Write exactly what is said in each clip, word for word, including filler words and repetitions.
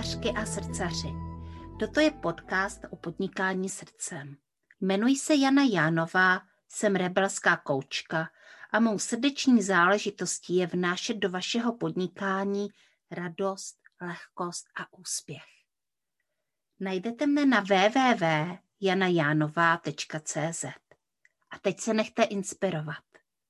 srdcařky a srdcaři. Toto je podcast o podnikání srdcem. Jmenuji se Jana Jánová, jsem rebelská koučka a mou srdeční záležitostí je vnášet do vašeho podnikání radost, lehkost a úspěch. Najdete mne na w w w tečka jana jánová tečka c z. A teď se nechte inspirovat.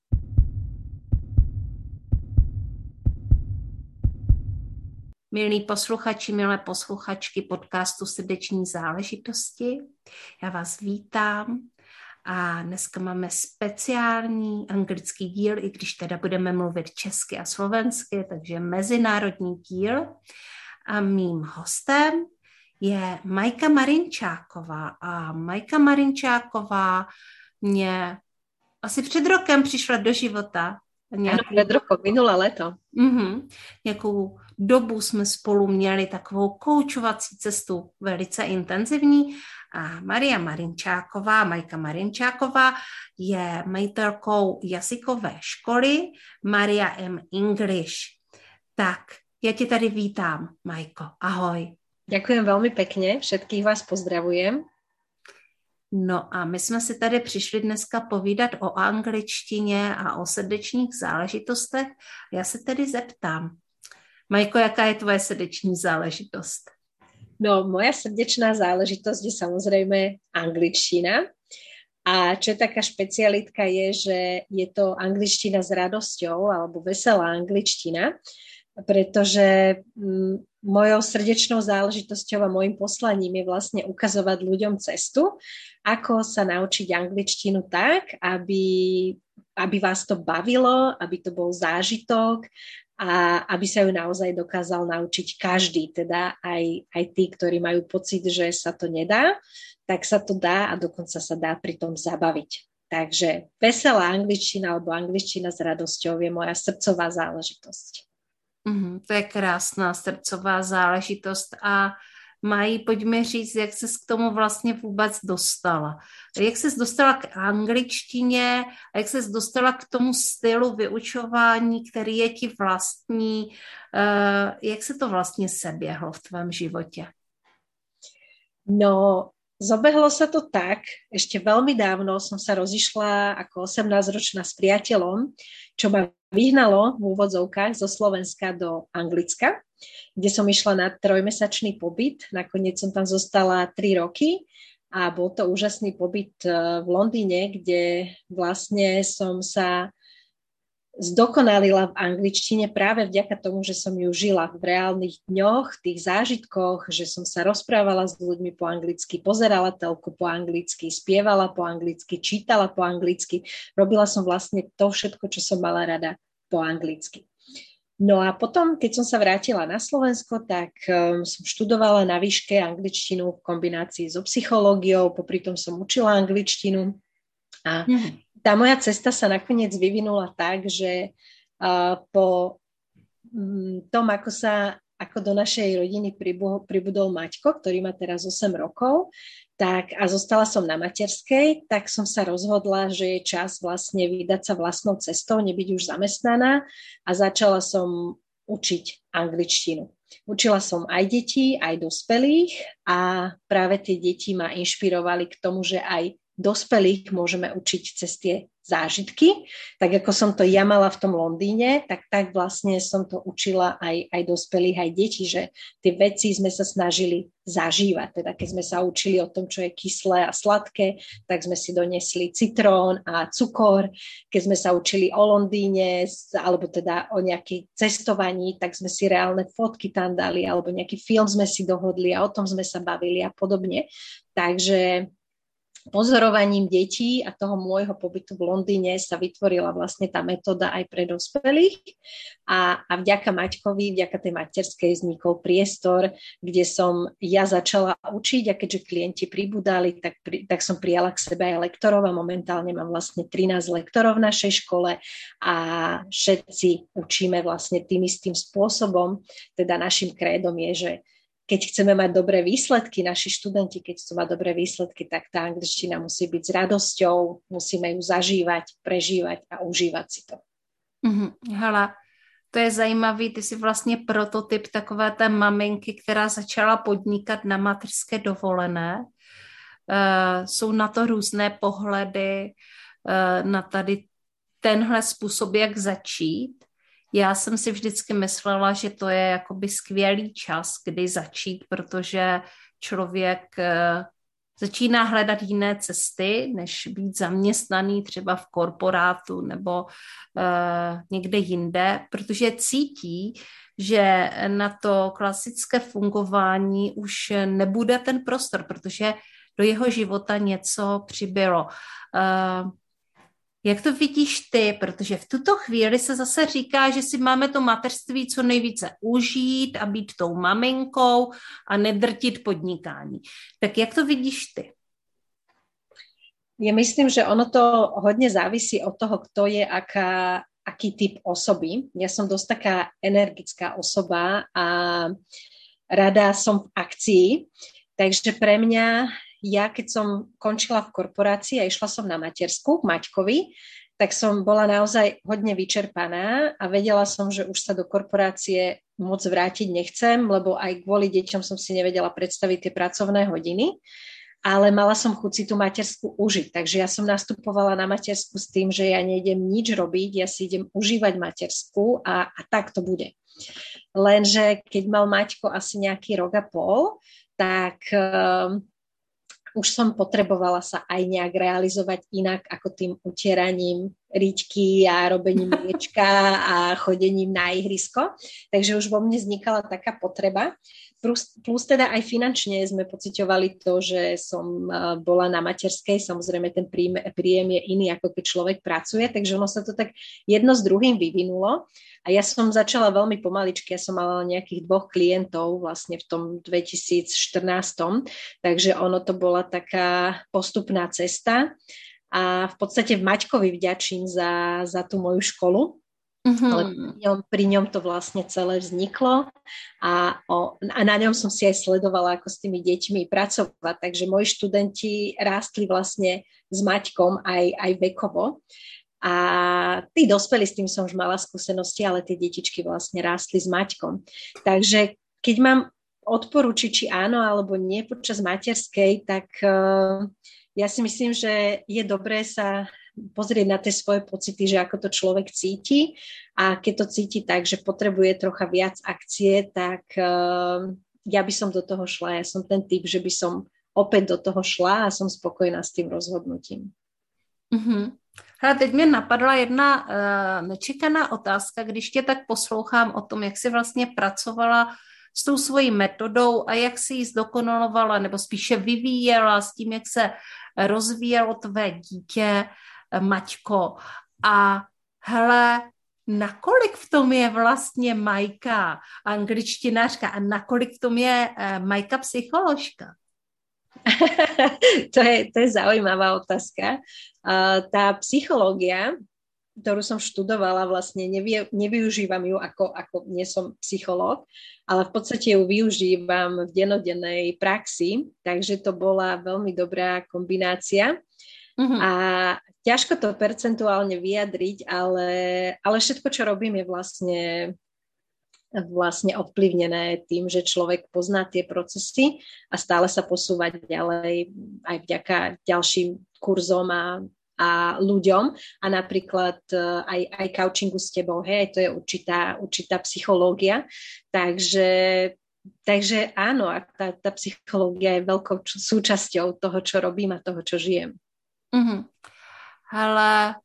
Milí posluchači, milé posluchačky podcastu Srdeční záležitosti, já vás vítám a dneska máme speciální anglický díl, i když teda budeme mluvit česky a slovensky, takže mezinárodní díl. A mým hostem je Majka Marinčáková. A Majka Marinčáková mě asi před rokem přišla do života. Nějakou... Ano, před rokem, minulé léto. Mm-hmm. Nějakou dobu jsme spolu měli takovou koučovací cestu velice intenzivní a Maria Marinčáková, Majka Marinčáková je majitelkou jazykové školy Maria M. English. Tak, já tě tady vítám, Majko. Ahoj. Ďakujem veľmi pekne, všetkých vás pozdravujem. No a my jsme si tady přišli dneska povídat o angličtině a o srdečních záležitostech. Já se tedy zeptám, Majko, jaká je tvoje srdeční záležitost? No, moja srdečná záležitosť je samozrejme angličtina. A čo je taká špecialitka je, že je to angličtina s radosťou alebo veselá angličtina, pretože m, mojou srdečnou záležitosťou a mojím poslaním je vlastne ukazovať ľuďom cestu, ako sa naučiť angličtinu tak, aby, aby vás to bavilo, aby to bol zážitok a aby sa ju naozaj dokázal naučiť každý, teda aj, aj tí, ktorí majú pocit, že sa to nedá, tak sa to dá a dokonca sa dá pri tom zabaviť. Takže veselá angličtina alebo angličtina s radosťou je moja srdcová záležitosť. Mm, to je krásná srdcová záležitost a Mají, pojďme říct, jak ses k tomu vlastně vůbec dostala. Jak ses dostala k angličtině a jak ses dostala k tomu stylu vyučování, který je ti vlastní. Jak se to vlastně seběhlo v tvém životě? No, zobehlo sa to tak, ešte veľmi dávno som sa rozišla ako osemnásťročná s priateľom, čo ma vyhnalo v úvodzovkách zo Slovenska do Anglicka, kde som išla na trojmesačný pobyt. Nakoniec som tam zostala tri roky a bol to úžasný pobyt v Londýne, kde vlastne som sa zdokonalila v angličtine práve vďaka tomu, že som ju žila v reálnych dňoch, tých zážitkoch, že som sa rozprávala s ľuďmi po anglicky, pozerala telku po anglicky, spievala po anglicky, čítala po anglicky. Robila som vlastne to všetko, čo som mala rada po anglicky. No a potom, keď som sa vrátila na Slovensko, tak um, som študovala na výške angličtinu v kombinácii so psychológiou, popri tom som učila angličtinu a mm. Tá moja cesta sa nakoniec vyvinula tak, že uh, po um, tom, ako sa ako do našej rodiny pribudol, pribudol Maťko, ktorý má teraz osem rokov, tak a zostala som na materskej, tak som sa rozhodla, že je čas vlastne vydať sa vlastnou cestou, nebyť už zamestnaná a začala som učiť angličtinu. Učila som aj detí, aj dospelých a práve tie deti ma inšpirovali k tomu, že aj dospelých môžeme učiť cez tie zážitky. Tak ako som to ja mala v tom Londýne, tak tak vlastne som to učila aj, aj dospelých, aj detí, že tie veci sme sa snažili zažívať. Teda keď sme sa učili o tom, čo je kyslé a sladké, tak sme si donesli citrón a cukor. Keď sme sa učili o Londýne, alebo teda o nejakej cestovaní, tak sme si reálne fotky tam dali, alebo nejaký film sme si dohodli a o tom sme sa bavili a podobne. Takže pozorovaním detí a toho môjho pobytu v Londýne sa vytvorila vlastne tá metóda aj pre dospelých a, a vďaka Maťkovi, vďaka tej materskej vznikol priestor, kde som ja začala učiť a keďže klienti pribudali, tak, pri, tak som prijala k sebe aj lektorov a momentálne mám vlastne trinásť lektorov v našej škole a všetci učíme vlastne tým istým spôsobom, teda našim krédom je, že keď chceme mať dobré výsledky, naši študenti, keď chcú mať dobré výsledky, tak tá angličtina musí byť s radosťou, musíme ju zažívať, prežívať a užívať si to. Mm-hmm. Hele, To je zajímavý, ty jsi vlastně prototyp takové té maminky, která začala podnikat na mateřské dovolené. Uh, jsou na to různé pohledy, uh, na tady tenhle způsob, jak začít. Já jsem si vždycky myslela, že to je jakoby skvělý čas, kdy začít, protože člověk uh, začíná hledat jiné cesty, než být zaměstnaný třeba v korporátu nebo uh, někde jinde, protože cítí, že na to klasické fungování už nebude ten prostor, protože do jeho života něco přibylo. Uh, jak to vidíš ty? Protože v tuto chvíli se zase říká, že si máme to mateřství co nejvíce užít a být tou maminkou a nedrtit podnikání. Tak jak to vidíš ty? Ja myslím, že ono to hodne závisí od toho, kto je aká, aký typ osoby. Ja som dosť taká energická osoba a rada som v akcii, takže pre mňa, ja keď som končila v korporácii a išla som na matersku k Maťkovi, tak som bola naozaj hodne vyčerpaná a vedela som, že už sa do korporácie moc vrátiť nechcem, lebo aj kvôli deťom som si nevedela predstaviť tie pracovné hodiny, ale mala som chuť si tú matersku užiť. Takže ja som nastupovala na matersku s tým, že ja nejdem nič robiť, ja si idem užívať matersku a, a tak to bude. Lenže keď mal Maťko asi nejaký rok a pol, tak um, už som potrebovala sa aj nejak realizovať inak ako tým utieraním riťky a robením mliečka a chodením na ihrisko. Takže už vo mne vznikala taká potreba. Plus, plus teda aj finančne sme pociťovali to, že som bola na materskej, samozrejme ten príjem, príjem je iný, ako keď človek pracuje, takže ono sa to tak jedno s druhým vyvinulo a ja som začala veľmi pomaličky, ja som mala nejakých dvoch klientov vlastne v tom dvetisícštrnásť, takže ono to bola taká postupná cesta a v podstate v Maťkovi vďačím za, za tú moju školu. Mm-hmm. Ale pri ňom, pri ňom to vlastne celé vzniklo a, o, a na ňom som si aj sledovala, ako s tými deťmi pracovať, takže moji študenti rástli vlastne s Maťkom aj, aj vekovo a tí dospelí, s tým som už mala skúsenosti, ale tie detičky vlastne rástli s Maťkom. Takže keď mám odporučiť, či áno alebo nie počas materskej, tak uh, ja si myslím, že je dobré sa pozrieť na tie svoje pocity, že ako to človek cíti a keď to cíti tak, že potrebuje trocha viac akcie, tak uh, ja by som do toho šla. Ja som ten typ, že by som opäť do toho šla a som spokojná s tým rozhodnutím. Mm-hmm. Hele, teď mě napadla jedna uh, nečekaná otázka, když tě tak poslouchám o tom, jak jsi vlastně pracovala s tou svojí metodou a jak si ji zdokonalovala nebo spíše vyvíjela s tím, jak se rozvíjelo tvé dítě, Maťko. A hele, nakolik v tom je vlastně Majka angličtinářka a nakolik v tom je uh, Majka psycholožka? to, je, to je zaujímavá otázka. Uh, tá psychológia, ktorú som študovala, vlastne nevy, nevyužívam ju ako, ako nie som psychológ, ale v podstate ju využívam v dennodennej praxi, takže to bola veľmi dobrá kombinácia. Mm-hmm. A ťažko to percentuálne vyjadriť, ale, ale všetko, čo robím, je vlastne, vlastne ovplyvnené tým, že človek pozná tie procesy a stále sa posúva ďalej aj vďaka ďalším kurzom a, a ľuďom a napríklad aj, aj coachingu s tebou, hej, to je určitá, určitá psychológia, takže takže áno, a tá, tá psychológia je veľkou súčasťou toho, čo robím a toho, čo žijem. Mm-hmm. Hele,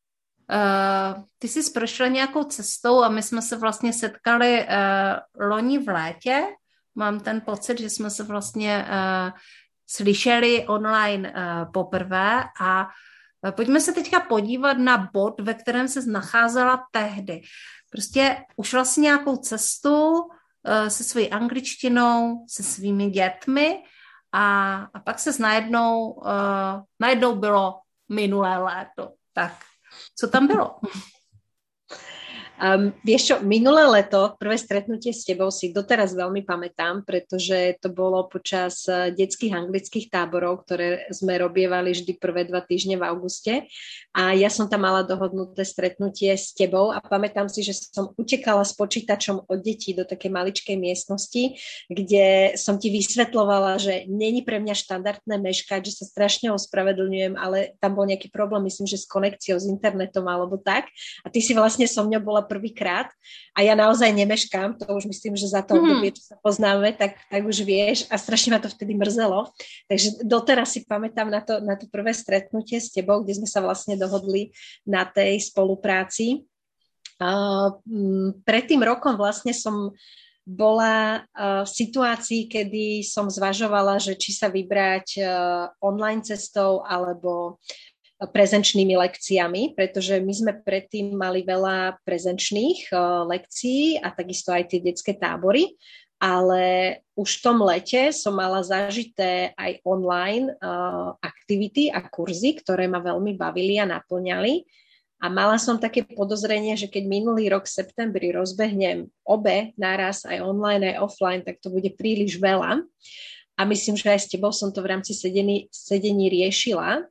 uh, ty jsi prošla nějakou cestou a my jsme se vlastně setkali uh, loni v létě. Mám ten pocit, že jsme se vlastně uh, slyšeli online uh, poprvé a uh, pojďme se teďka podívat na bod, ve kterém se nacházela tehdy. Prostě ušla si nějakou cestu uh, se svojí angličtinou, se svými dětmi A, a pak se najednou, uh, najednou bylo minulé léto. Tak, co tam bylo? Um, vieš čo, minulé leto, prvé stretnutie s tebou si doteraz veľmi pamätám, pretože to bolo počas detských anglických táborov, ktoré sme robievali vždy prvé dva týždne v auguste. A ja som tam mala dohodnuté stretnutie s tebou a pamätám si, že som utekala s počítačom od detí do takej maličkej miestnosti, kde som ti vysvetľovala, že není pre mňa štandardné meškať, že sa strašne ospravedlňujem, ale tam bol nejaký problém, myslím, že s konekciou, s internetom alebo tak. A ty si vlastne so mňou bola prvýkrát a ja naozaj nemeškám, to už myslím, že za to obdobie, čo sa poznáme, tak, tak už vieš a strašne ma to vtedy mrzelo. Takže doteraz si pamätám na to, na to prvé stretnutie s tebou, kde sme sa vlastne dohodli na tej spolupráci. Uh, pred tým rokom vlastne som bola uh, v situácii, kedy som zvažovala, že či sa vybrať uh, online cestou alebo prezenčnými lekciami, pretože my sme predtým mali veľa prezenčných uh, lekcií a takisto aj tie detské tábory, ale už v tom lete som mala zažité aj online uh, aktivity a kurzy, ktoré ma veľmi bavili a naplňali. A mala som také podozrenie, že keď minulý rok v septembri rozbehnem obe naraz, aj online, aj offline, tak to bude príliš veľa. A myslím, že aj s tebou som to v rámci sedení, sedení riešila.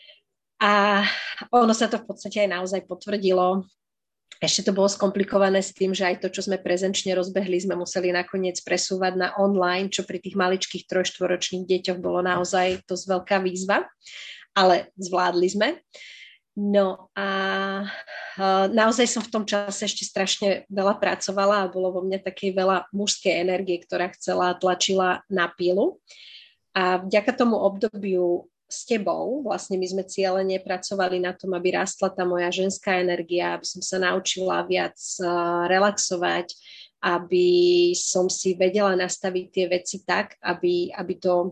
A ono sa to v podstate aj naozaj potvrdilo. Ešte to bolo skomplikované s tým, že aj to, čo sme prezenčne rozbehli, sme museli nakoniec presúvať na online, čo pri tých maličkých trojštvoročných deťoch bolo naozaj dosť veľká výzva, ale zvládli sme. No a naozaj som v tom čase ešte strašne veľa pracovala a bolo vo mne takej veľa mužskej energie, ktorá chcela, tlačila na pílu. A vďaka tomu obdobiu s tebou, vlastne my sme cieľene pracovali na tom, aby rástla tá moja ženská energia, aby som sa naučila viac relaxovať, aby som si vedela nastaviť tie veci tak, aby, aby to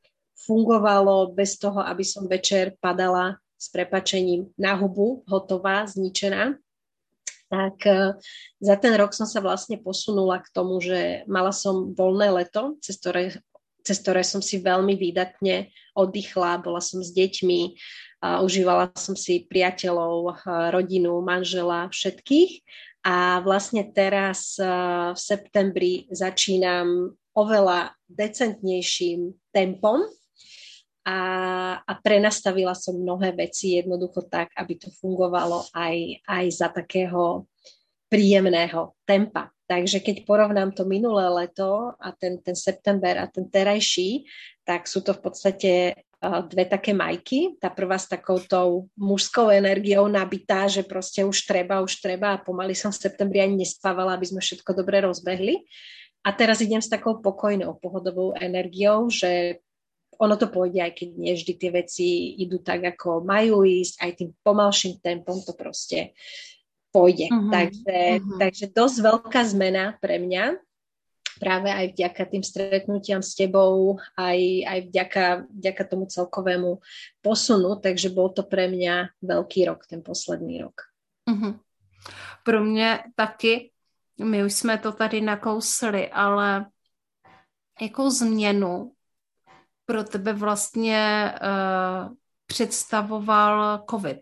fungovalo bez toho, aby som večer padala s prepáčením na hubu, hotová, zničená. Tak za ten rok som sa vlastne posunula k tomu, že mala som voľné leto, cez ktoré cez ktoré som si veľmi výdatne oddychla, bola som s deťmi, uh, užívala som si priateľov, uh, rodinu, manžela, všetkých. A vlastne teraz uh, v septembri začínam oveľa decentnejším tempom a, a prenastavila som mnohé veci jednoducho tak, aby to fungovalo aj, aj za takého príjemného tempa. Takže keď porovnám to minulé leto a ten, ten september a ten terajší, tak sú to v podstate uh, dve také majky. Tá prvá s takoutou mužskou energiou nabitá, že proste už treba, už treba a pomaly som v septembri ani nespávala, aby sme všetko dobre rozbehli. A teraz idem s takou pokojnou, pohodovou energiou, že ono to pôjde, aj keď nie vždy tie veci idú tak, ako majú ísť, aj tým pomalším tempom to proste pôjde. Uh-huh, takže, uh-huh. takže dosť veľká zmena pre mňa, práve aj vďaka tým stretnutiam s tebou, aj, aj vďaka, vďaka tomu celkovému posunu, takže bol to pre mňa veľký rok, ten posledný rok. Uh-huh. Pro mě taky, my už jsme to tady nakousli, ale jakou změnu pro tebe vlastně uh, představoval covid?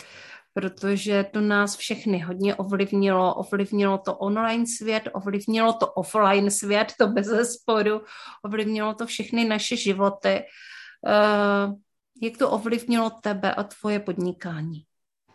Protože to nás všechny hodně ovlivnilo. Ovlivnilo to online svět, ovlivnilo to offline svět, to bez zesporu, ovlivnilo to všechny naše životy. Uh, jak to ovlivnilo tebe a tvoje podnikání?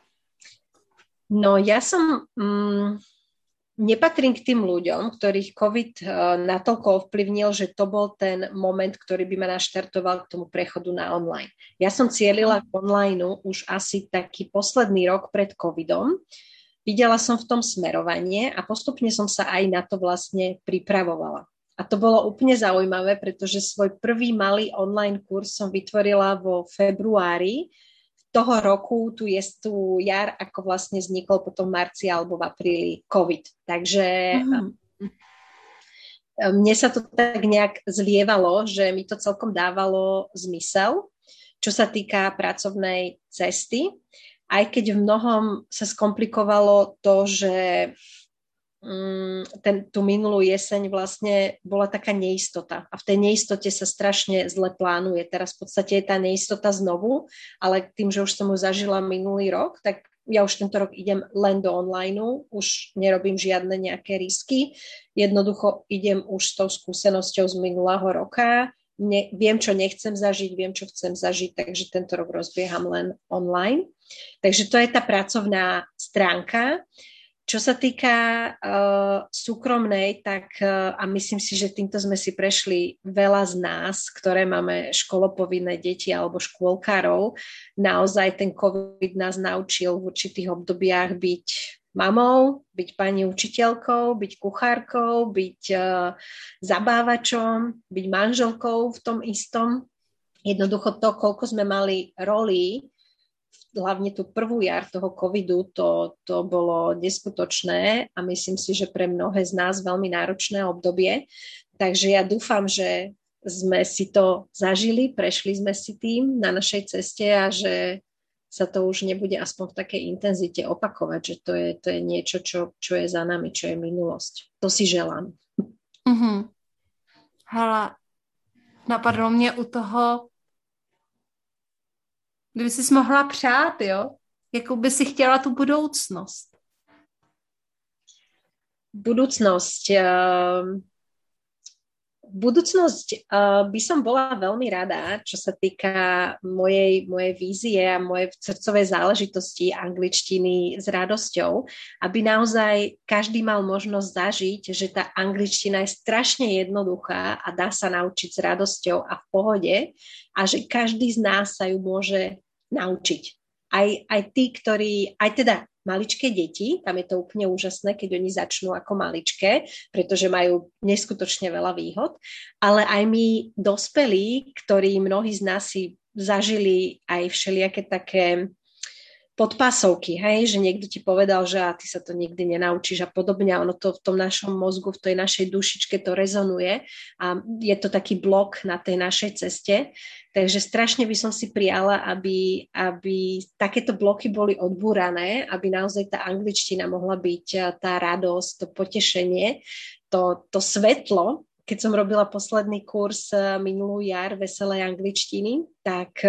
No ja som... Mm, nepatrím k tým ľuďom, ktorých COVID uh, natoľko ovplyvnil, že to bol ten moment, ktorý by ma naštartoval k tomu prechodu na online. Ja som cielila k online už asi taký posledný rok pred covidom. Videla som v tom smerovanie a postupne som sa aj na to vlastne pripravovala. A to bolo úplne zaujímavé, pretože svoj prvý malý online kurz som vytvorila vo februári toho roku, tu je tu jar, ako vlastne vznikol potom v marci alebo v apríli COVID. Takže mm. mne sa to tak nejak zlievalo, že mi to celkom dávalo zmysel, čo sa týka pracovnej cesty. Aj keď v mnohom sa skomplikovalo to, že ten, tú minulú jeseň vlastne bola taká neistota a v tej neistote sa strašne zle plánuje. Teraz v podstate je tá neistota znovu, ale tým, že už som ju zažila minulý rok, tak ja už tento rok idem len do online, už nerobím žiadne nejaké risky, jednoducho idem už s tou skúsenosťou z minulého roka, ne, viem, čo nechcem zažiť, viem, čo chcem zažiť, takže tento rok rozbieham len online. Takže to je tá pracovná stránka. Čo sa týka uh, súkromnej, tak uh, a myslím si, že týmto sme si prešli veľa z nás, ktoré máme školopovinné deti alebo škôlkárov. Naozaj ten COVID nás naučil v určitých obdobiach byť mamou, byť pani učiteľkou, byť kuchárkou, byť uh, zabávačom, byť manželkou v tom istom. Jednoducho to, koľko sme mali rolí, hlavne tú prvú jar toho covidu, to, to bolo neskutočné a myslím si, že pre mnohé z nás veľmi náročné obdobie. Takže ja dúfam, že sme si to zažili, prešli sme si tým na našej ceste a že sa to už nebude aspoň v takej intenzite opakovať, že to je, to je niečo, čo, čo je za nami, čo je minulosť. To si želám. Mm-hmm. Hele, napadlo mě u toho, kdyby jsi mohla přát, jo? Jakou by si chtěla tu budoucnost? Budúcnosť. Uh, budúcnosť uh, by som bola veľmi rada, čo sa týka mojej, mojej vízie a mojej srdcovej záležitosti angličtiny s radosťou, aby naozaj každý mal možnosť zažiť, že tá angličtina je strašne jednoduchá a dá sa naučiť s radosťou a v pohode a že každý z nás sa ju môže naučiť. Aj, aj tí, ktorí, aj teda maličké deti, tam je to úplne úžasné, keď oni začnú ako maličké, pretože majú neskutočne veľa výhod, ale aj my dospelí, ktorí mnohí z nás si zažili aj všelijaké také podpásovky, hej, že niekto ti povedal, že a ty sa to nikdy nenaučíš a podobne, ono to v tom našom mozgu, v tej našej dušičke to rezonuje a je to taký blok na tej našej ceste, takže strašne by som si prijala, aby, aby takéto bloky boli odbúrané, aby naozaj tá angličtina mohla byť tá radosť, to potešenie, to, to svetlo. Keď som robila posledný kurz minulú jar veselej angličtiny, tak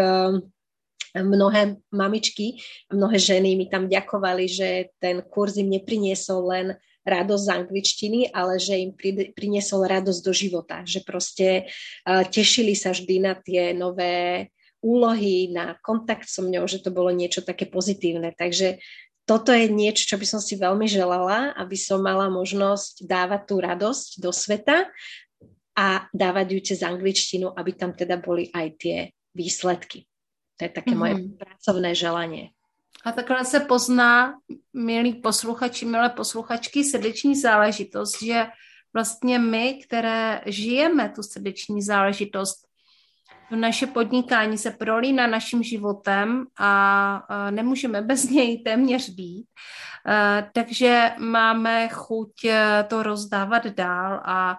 mnohé mamičky, mnohé ženy mi tam ďakovali, že ten kurz im nepriniesol len radosť z angličtiny, ale že im priniesol radosť do života, že proste uh, tešili sa vždy na tie nové úlohy, na kontakt so mňou, že to bolo niečo také pozitívne. Takže toto je niečo, čo by som si veľmi želala, aby som mala možnosť dávať tú radosť do sveta a dávať ju cez angličtinu, aby tam teda boli aj tie výsledky. To je také moje mm-hmm. pracovné želanie. A takhle se pozná, milí posluchači, milé posluchačky, srdeční záležitost, že vlastně my, které žijeme tu srdeční záležitost, naše podnikání se prolíná naším životem a nemůžeme bez něj téměř být. Takže máme chuť to rozdávat dál a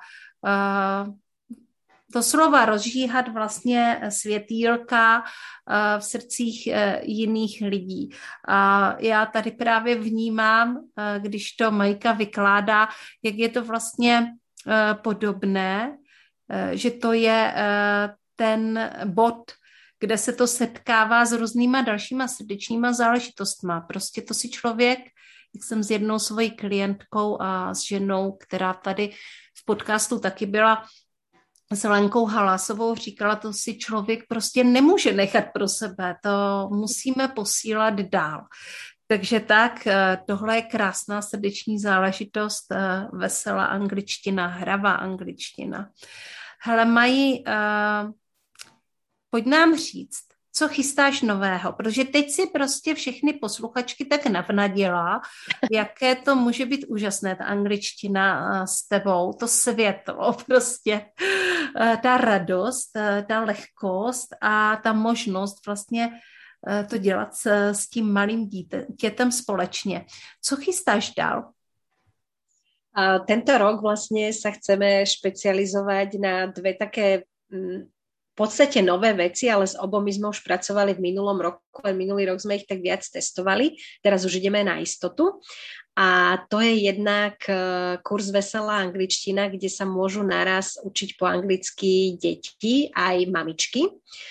doslova rozžíhat vlastně světýlka v srdcích jiných lidí. A já tady právě vnímám, když to Majka vykládá, jak je to vlastně podobné, že to je ten bod, kde se to setkává s různýma dalšíma srdečníma záležitostma. Prostě to si člověk, jak jsem s jednou svojí klientkou a s ženou, která tady v podcastu taky byla, s Lenkou Halásovou říkala, to si člověk prostě nemůže nechat pro sebe, to musíme posílat dál. Takže tak, tohle je krásná srdeční záležitost, veselá angličtina, hravá angličtina. Hele, Maji, uh, pojď nám říct, co chystáš nového, protože teď si prostě všechny posluchačky tak navnadila, jaké to může být úžasné, ta angličtina s tebou, to světlo prostě, ta radost, ta lehkost a ta možnost vlastně to dělat s, s tím malým dítětem společně. Co chystáš dál? A tento rok vlastne sa chceme špecializovať na dve také v podstate nové veci, ale s obomi sme už pracovali v minulom roku, a minulý rok sme ich tak viac testovali, teraz už ideme na istotu. A to je jednak kurz Veselá angličtina, kde sa môžu naraz učiť po anglicky deti aj mamičky.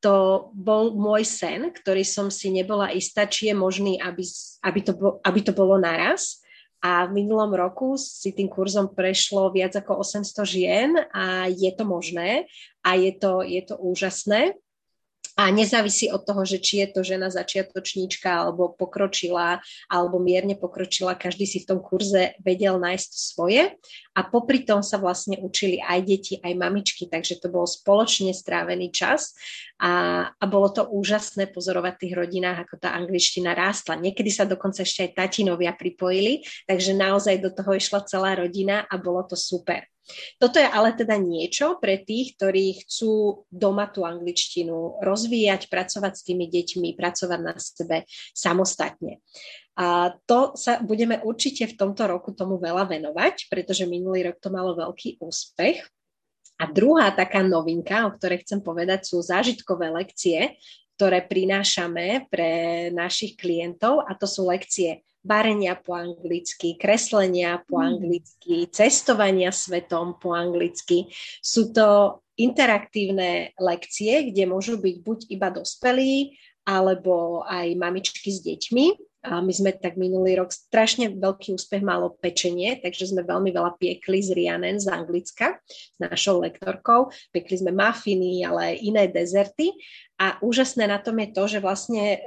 to bol môj sen, ktorý som si nebola istá, či je možný, aby, aby, to, aby to bolo naraz. A v minulom roku si tým kurzom prešlo viac ako osemsto žien a je to možné a je to, je to úžasné. A nezávisí od toho, že či je to žena začiatočníčka alebo pokročila, alebo mierne pokročila, každý si v tom kurze vedel nájsť to svoje. A popri tom sa vlastne učili aj deti, aj mamičky, takže to bol spoločne strávený čas a, a bolo to úžasné pozorovať v tých rodinách, ako tá angličtina rástla. Niekedy sa dokonca ešte aj tatinovia pripojili, takže naozaj do toho išla celá rodina a bolo to super. Toto je ale teda niečo pre tých, ktorí chcú doma tú angličtinu rozvíjať, pracovať s tými deťmi, pracovať na sebe samostatne. A to sa budeme určite v tomto roku tomu veľa venovať, pretože minulý rok to malo veľký úspech. A druhá taká novinka, o ktorej chcem povedať, sú zážitkové lekcie, ktoré prinášame pre našich klientov, a to sú lekcie varenia po anglicky, kreslenia po anglicky, cestovania svetom po anglicky. Sú to interaktívne lekcie, kde môžu byť buď iba dospelí, alebo aj mamičky s deťmi. A my sme tak minulý rok strašne veľký úspech malo pečenie, takže sme veľmi veľa piekli z Rhiannon z Anglicka, s našou lektorkou. Piekli sme mafiny, ale aj iné dezerty. A úžasné na tom je to, že vlastne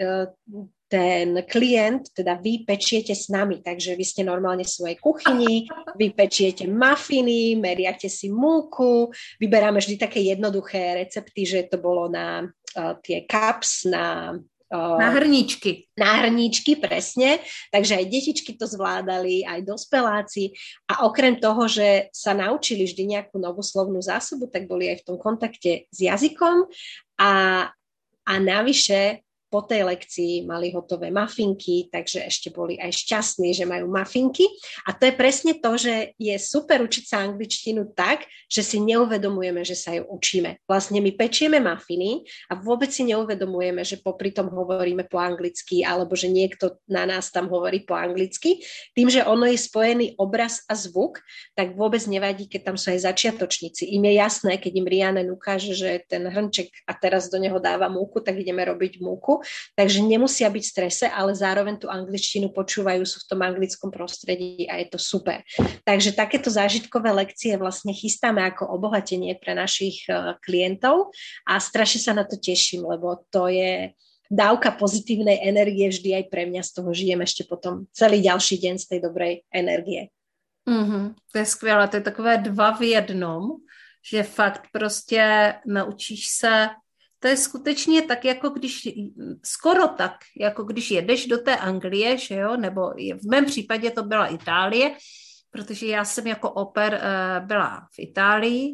ten klient, teda vy pečiete s nami, takže vy ste normálne v svojej kuchyni, vy pečiete mafiny, meriate si múku, vyberáme vždy také jednoduché recepty, že to bolo na uh, tie cups, na uh, na hrníčky. Na hrníčky, presne. Takže aj detičky to zvládali, aj dospeláci. A okrem toho, že sa naučili vždy nejakú novú slovnú zásobu, tak boli aj v tom kontakte s jazykom a, a navyše po tej lekcii mali hotové mafinky, takže ešte boli aj šťastní, že majú mafinky. A to je presne to, že je super učiť sa angličtinu tak, že si neuvedomujeme, že sa ju učíme. Vlastne my pečieme mafiny a vôbec si neuvedomujeme, že popri tom hovoríme po anglicky, alebo že niekto na nás tam hovorí po anglicky. Tým, že ono je spojený obraz a zvuk, tak vôbec nevadí, keď tam sú aj začiatočníci. Im je jasné, keď im Rhiannon ukáže, že ten hrnček a teraz do neho dáva múku, tak ideme robiť múku. Takže nemusia byť v strese, ale zároveň tú angličtinu počúvajú, sú v tom anglickom prostredí a je to super. Takže takéto zážitkové lekcie vlastne chystáme ako obohatenie pre našich klientov a strašne sa na to teším, lebo to je dávka pozitívnej energie vždy aj pre mňa, z toho žijem ešte potom celý ďalší deň z tej dobrej energie. Mm-hmm, to je skvělé, to je takové dva v jednom, že fakt prostě naučíš se. To je skutečně tak, jako když, skoro tak, jako když jedeš do té Anglie, že jo, nebo v mém případě to byla Itálie, protože já jsem jako oper uh, byla v Itálii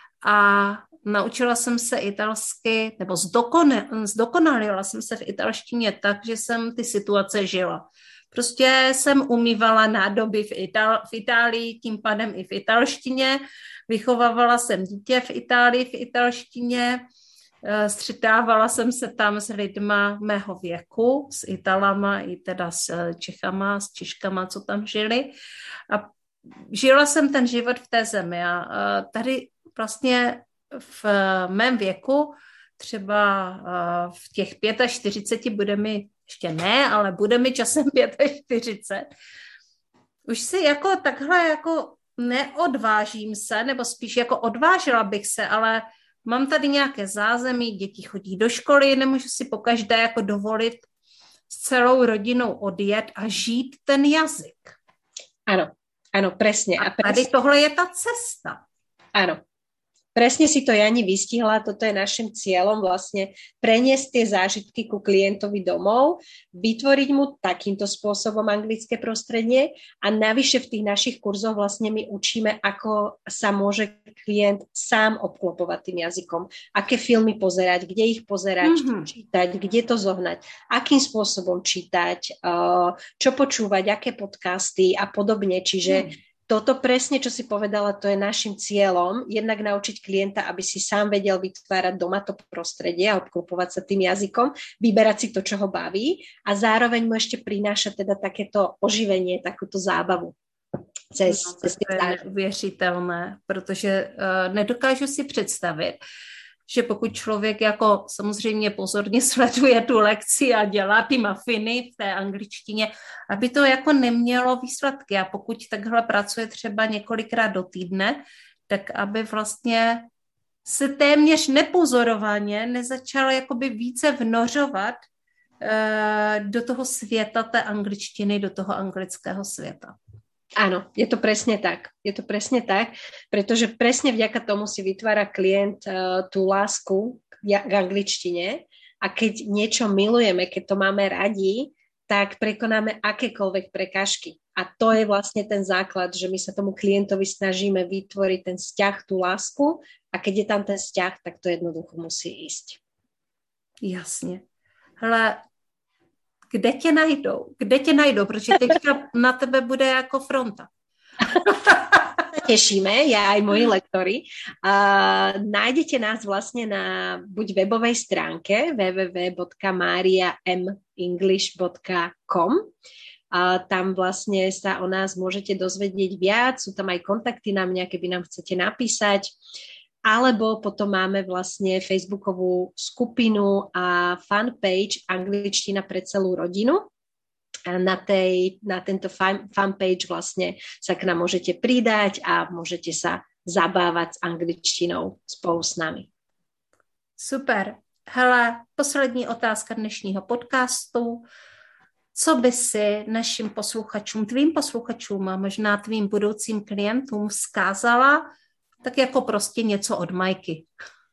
a naučila jsem se italsky, nebo zdokone, zdokonalila jsem se v italštině tak, že jsem ty situace žila. Prostě jsem umývala nádoby v, Itál- v Itálii, tím pádem i v italštině, vychovávala jsem dítě v Itálii v italštině, střetávala jsem se tam s lidma mého věku, s Italama i teda s Čechama, s Češkama, co tam žili. A žila jsem ten život v té zemi a tady vlastně v mém věku, třeba v těch čtyřiceti pěti bude mi, ještě ne, ale bude mi časem čtyřicet pět, už si jako takhle jako neodvážím se, nebo spíš jako odvážila bych se, ale mám tady nějaké zázemí, děti chodí do školy, nemůžu si pokaždé jako dovolit s celou rodinou odjet a žít ten jazyk. Áno, áno, presne. A, a tady tohle je ta cesta. Áno. Presne si to Jani vystihla, toto je našim cieľom vlastne preniesť tie zážitky ku klientovi domov, vytvoriť mu takýmto spôsobom anglické prostredie a navyše v tých našich kurzoch vlastne my učíme, ako sa môže klient sám obklopovať tým jazykom, aké filmy pozerať, kde ich pozerať, mm-hmm. čítať, kde to zohnať, akým spôsobom čítať, čo počúvať, aké podcasty a podobne, čiže mm. Toto presne, čo si povedala, to je našim cieľom, jednak naučiť klienta, aby si sám vedel vytvárať doma to prostredie a obklopovať sa tým jazykom, vyberať si to, čo ho baví a zároveň mu ešte prináša teda takéto oživenie, takúto zábavu. Cez, no, cez to je neuvěřitelné, protože uh, nedokážu si představit, že pokud člověk jako samozřejmě pozorně sleduje tu lekci a dělá ty mafiny v té angličtině, aby to jako nemělo výsledky. A pokud takhle pracuje třeba několikrát do týdne, tak aby vlastně se téměř nepozorovaně nezačal jakoby více vnořovat uh, do toho světa té angličtiny, do toho anglického světa. Áno, je to presne tak. Je to presne tak, pretože presne vďaka tomu si vytvára klient uh, tú lásku k angličtine a keď niečo milujeme, keď to máme radi, tak prekonáme akékoľvek prekážky. A to je vlastne ten základ, že my sa tomu klientovi snažíme vytvoriť ten vzťah, tú lásku a keď je tam ten vzťah, tak to jednoducho musí ísť. Jasně. Hele, kde tě najdou? Kde tě najdou? Protože teďka na tebe bude jako fronta. Tešíme, ja aj moji lektori. Uh, nájdete nás vlastne na buď webovej stránke w w w bodka maria m english bodka com. Uh, tam vlastne sa o nás môžete dozvedieť viac, sú tam aj kontakty na mňa, keby nám chcete napísať. Alebo potom máme vlastne facebookovú skupinu a fanpage Angličtina pre celú rodinu. A na, tej, na tento fan, fanpage vlastne sa k nám môžete pridať a môžete sa zabávať s angličtinou spolu s nami. Super. Hele, poslední otázka dnešního podcastu. Co by si našim posluchačům, tvým posluchačům a možná tvým budoucím klientům vzkázala, tak jako prostě něco od Majky?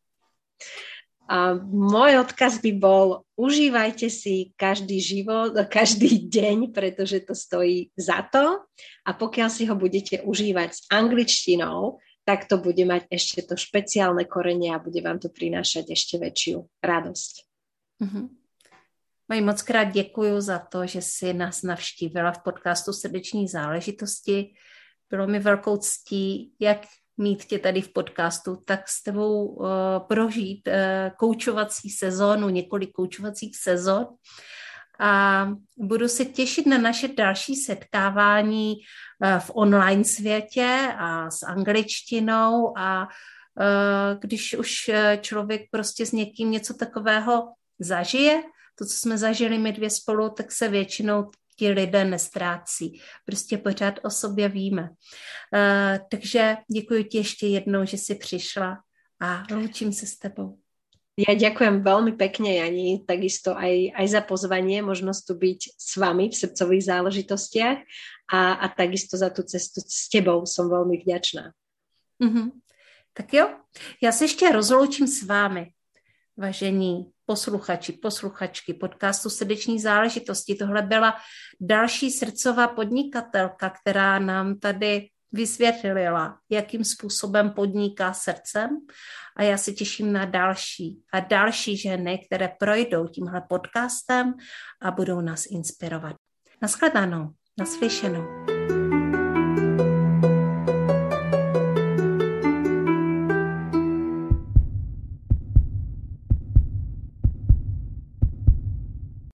A môj odkaz by bol, užívajte si každý život, každý deň, pretože to stojí za to a pokiaľ si ho budete užívať s angličtinou, tak to bude mať ešte to špeciálne korene a bude vám to prinášať ešte väčšiu radosť. Mm-hmm. Maj, moc krát děkuju za to, že jsi nás navštívila v podcastu Srdeční záležitosti. Bylo mi velkou ctí, jak mít tě tady v podcastu, tak s tebou uh, prožít uh, koučovací sezónu, několik koučovacích sezon a budu se těšit na naše další setkávání uh, v online světě a s angličtinou a uh, když už člověk prostě s někým něco takového zažije, to, co jsme zažili my dvě spolu, tak se většinou ti lidé nestrácí. Prostě pořád o sobě víme. Uh, takže děkuji ti ještě jednou, že jsi přišla a loučím se s tebou. Ja ďakujem veľmi pekne, Jani, takisto aj, aj za pozvanie, možnosť tu byť s vami v srdcových záležitostiach a, a takisto za tú cestu s tebou som veľmi vďačná. Mm-hmm. Tak jo, já se ještě rozloučím s vámi, vážení posluchači, posluchačky podcastu Srdeční záležitosti. Tohle byla další srdcová podnikatelka, která nám tady vysvětlila, jakým způsobem podniká srdcem a já se těším na další a další ženy, které projdou tímhle podcastem a budou nás inspirovat. Naschledanou, naslyšenou.